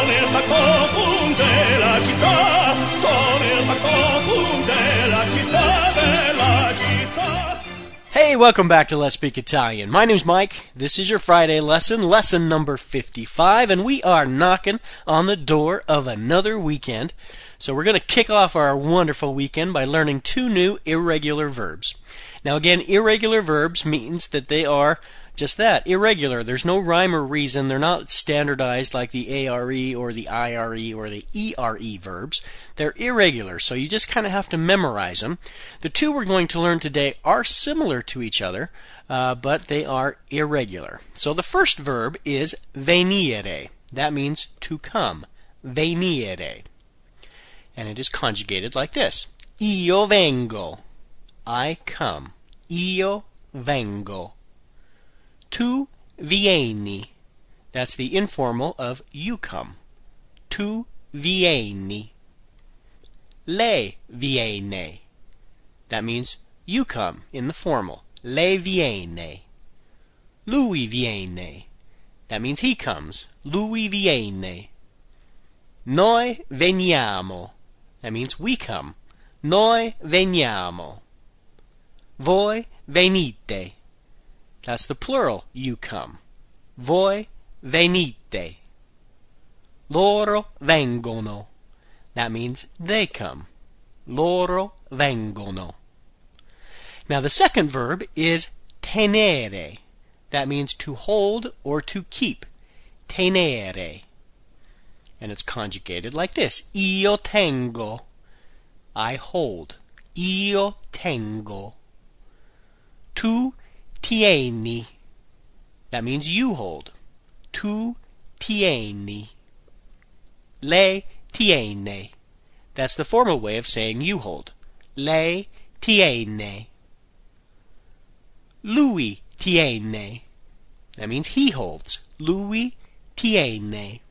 Sono il Bacco della città, sono il Bacco della città, della città. Hey, welcome back to Let's Speak Italian. My name's Mike. This is your Friday lesson, lesson number 55, and we are knocking on the door of another weekend. So we're going to kick off our wonderful weekend by learning two new irregular verbs. Now again, irregular verbs means that they are just that, irregular. There's no rhyme or reason. They're not standardized like the ARE or the IRE or the ERE verbs. They're irregular, so you just kind of have to memorize them. The two we're going to learn today are similar to each other, but they are irregular. So the first verb is venire. That means to come. Venire. And it is conjugated like this. Io vengo. I come. Io vengo. Tu vieni. That's the informal of you come. Tu vieni. Lei viene. That means you come in the formal. Lei viene. Lui viene. That means he comes. Lui viene. Noi veniamo. That means we come. Noi veniamo. Voi venite. That's the plural, you come. Voi venite. Loro vengono. That means they come. Loro vengono. Now the second verb is tenere. That means to hold or to keep. Tenere. And it's conjugated like this. Io tengo. I hold. Io tengo. Tu tieni. That means you hold. Tu tieni. Lei tiene. That's the formal way of saying you hold. Lei tiene. Lui tiene. That means he holds. Lui tiene.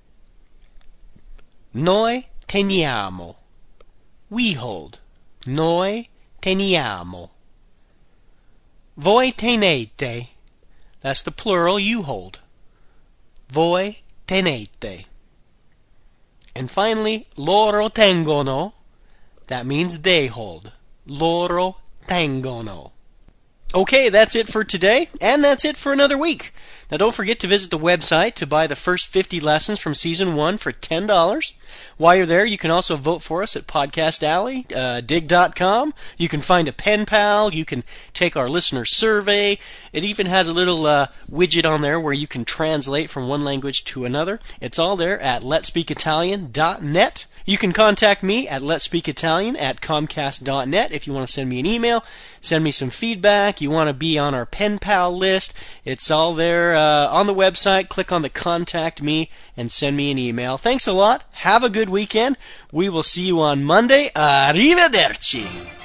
Noi teniamo. We hold. Noi teniamo. Voi tenete. That's the plural, you hold. Voi tenete. And finally, loro tengono. That means they hold. Loro tengono. Okay, that's it for today, and that's it for another week. Now don't forget to visit the website to buy the first 50 lessons from Season 1 for $10. While you're there, you can also vote for us at Podcast Alley, dig.com. You can find a pen pal. You can take our listener survey. It even has a little widget on there where you can translate from one language to another. It's all there at letspeakitalian.net. You can contact me at letspeakitalian@comcast.net if you want to send me an email, send me some feedback, you want to be on our pen pal list. It's all there on the website. Click on the Contact Me and send me an email. Thanks a lot. Have a good weekend. We will see you on Monday. Arrivederci.